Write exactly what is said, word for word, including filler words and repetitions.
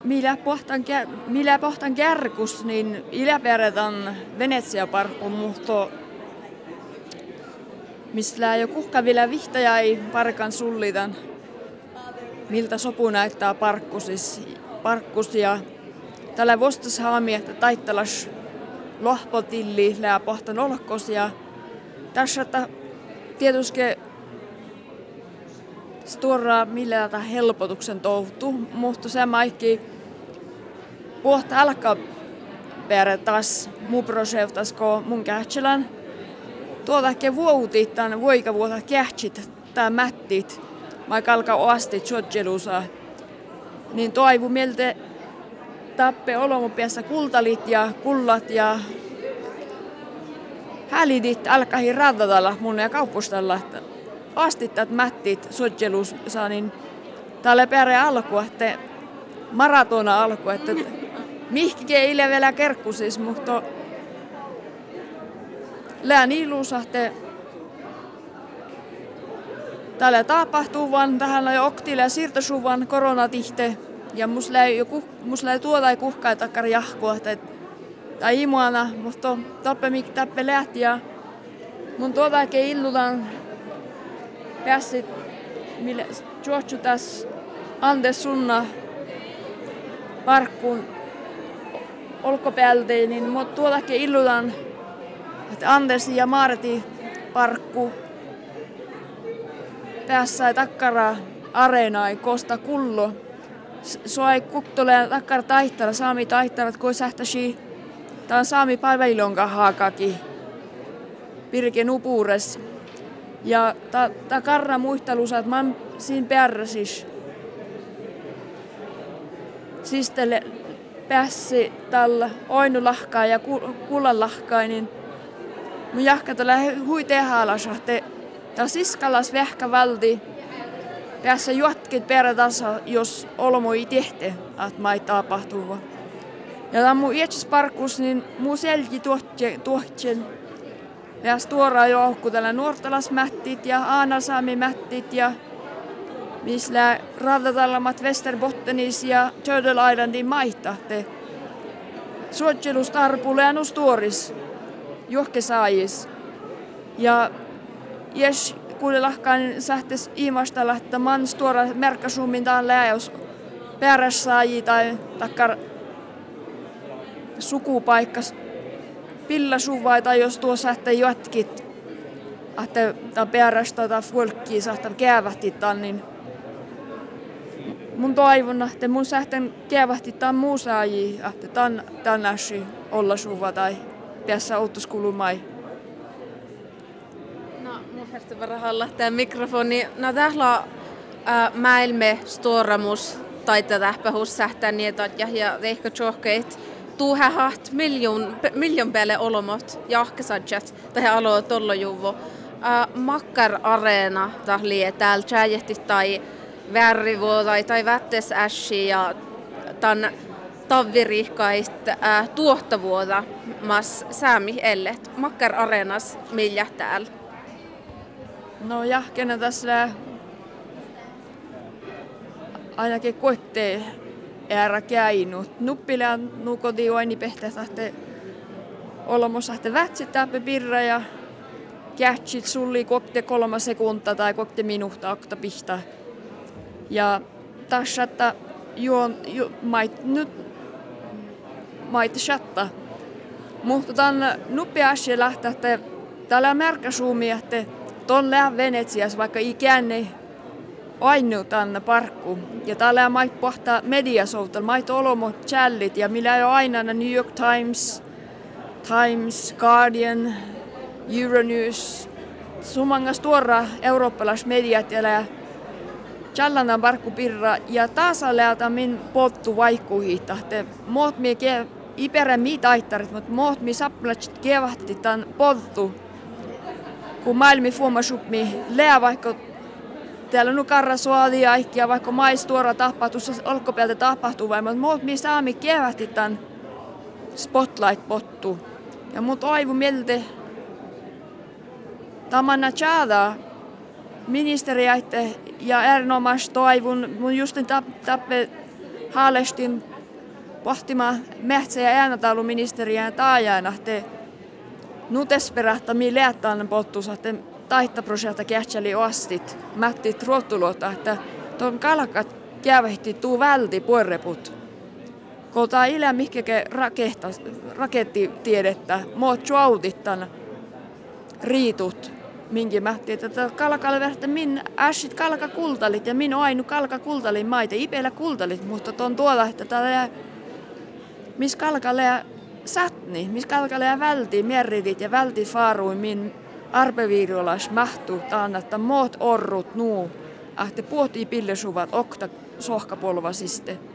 millä pohtan, millä pohtan kärkus, niin iläperätän Venetsia-parkku, mutta mistä jo kuhka vielä vihtaja ei parkan sullitan, miltä sopu näyttää parkkusis, parkkus ja tällä vostas haami, että taittalas lohpotilli lää pohtan olkos ja tässä että tietysti stora millä tätä helpotuksen touhtu, mutta se maikki pohta alkaa perä taas muu proseutas ko mun kähtselän. Tuotakin vuotit tämän voika vuota kähtsit tää mättit, vaikka alkaa oastit sotjelusa. Niin toivu mieltä tappe olomupiassa kultalit ja kullat ja hälidit alkahi radatalla mun ja kauppustalla. Astittat mättit sotjelusa, niin tälle perä alku, että maratona alku, että mihki ei vielä kerkkusis, mutta lään ilusahte täällä tapahtuu vaan tähän jo oktille ja siirtosuvan koronatihte ja mus läi joku mus läi tuoda ei kuhkaa takkar jahkua että tai imuana mutta tappe mik tappe lähti ja mun tuoda ke illudan pääsit millä juotsu tässä Andes sunna parkkuun olkopäältä niin mut tuoda ke illudan että Anders ja Marti parkku tässä takkara areenai kosta kullo. So ei kuktole takkar taittara saami taittarat ko sähtäsi tän saami palvelonka haakaki Pirken upuures. Ja ta, ta karra muistelusa että man siinä pärräsis. Sistelle pääsi tällä oinulahkaa ja kullalahkaa niin mun jahkata lähe hui tehaalasa, että tää siskallas vähkä valti päässä juotkit perätasa, jos olmo ei tehte, että mai tapahtuu. Ja tää mun iätsisparkkus, niin mun selki tuohtjen päässä tuoraa johku tällä nuortalasmättit ja aanasaamimättit ja missä radatallamat Västerbottenis ja Turtle Islandin maitahte. Suotjelustarpulle ja nustuoris. Johke saajis. Ja jos kuulelahkaan sähtes iimastalla, että man stuora merkkasummin taan läjäus perässaaji tai takkar sukupaikkas pillasuvai tai jos tuo sähte jotkit, että tämä perästä tai folkkiin sähtä käävähti tämän, niin mun toivon, että mun sähten käävähti tämän muu saaji, että tämän tänäsi olla suva tai tässä outoskulumai. No, mun färti varahalla tämä mikrofoni. No, täällä on äh, mäilme storamus taita tähpähus sähtään ja ja ehkä tjohkeit tuuhähat miljoon miljoon päälle olomot jahkesadjat tai aloa tollo juvo. Äh, Makkar Areena tahlie täällä tjäjähti tai värrivuo tai tai vättes ässi ja tän tavvirihkait äh, tuottavuota mas säämi ellet. Makkar Areenas millä täällä? No jahkena tässä ainakin koittee äärä käynyt. Nuppilä nukoti oini pehtehtähte olomosahte vätsittäpä pirra ja kähtsit sulli kokte kolme sekunta tai kokte minuutta akta pihta. Ja tässä että juon ju, mait nyt mait shatta. Mutta tämän nuppiasia lähtee, että täällä märkäsuumi, että ton lää Venetsias, vaikka ikään ei ainu tänne parkku. Ja täällä mait pohtaa mediasoutal, mait olomot challit ja millä ei ole aina New York Times, Times, Guardian, Euronews. Sumangas tuora eurooppalais mediat ja challanan parkku pirra ja taas läältä min pottu vaikkuhiita. Moot mie ke iperä mi taittarit, mutta moot mi saplatsit kevahti tän pottu. Kun maailmi fuomasupmi lää vaikka täällä nu karra suodi ja vaikka mais tuora tapahtuu, olkopäältä tapahtuu vai, mutta moot mi saami kevahti tän spotlight-pottu. Ja mut aivu mieltä tamanna tjäädä ministeriäitte ja erinomaisesti toivon, mun justin tappe haalestin pohtimaan metsä- ja äänätauluministeriään taajana, että nutesperähtä mi läättään pottus, että taittaprojekta kähtseli ostit, mätti trotulota, että tuon kalkat kävähti tuu välti puoreput. Kun tämä ilä mihkekä rakettitiedettä, muut juaudittan riitut, minkä mätti, että kalkalle verta min äsit kalka kultalit ja min ainu kalka kultalin maita, ipeillä kultalit, mutta tuon tuolla, että täällä missä kalkalle satni, missä kalkalle välti merritit ja välti faaruin min arpeviiruolas mahtuu taan, että muut orrut nuu, että puhtii pillesuvat okta sohkapolvasiste.